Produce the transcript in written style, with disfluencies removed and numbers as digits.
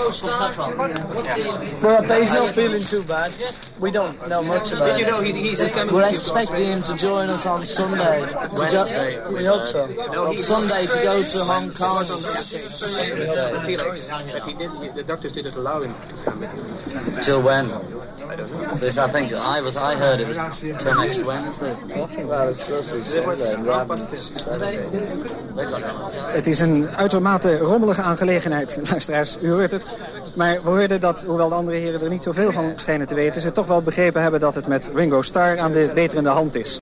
Well, he's not feeling too bad. We don't know much about it. We're expecting him to join us on Sunday. We hope so. Sunday to go to Hong Kong. The doctors didn't allow him to come. Till when? This, I think, I heard it was till next Wednesday. Well, it's supposed to be Sunday. Het is een uitermate rommelige aangelegenheid, luisteraars. U hoort het. Maar we hoorden dat, hoewel de andere heren er niet zoveel van schijnen te weten, ze toch wel begrepen hebben dat het met Ringo Starr aan de beterende hand is.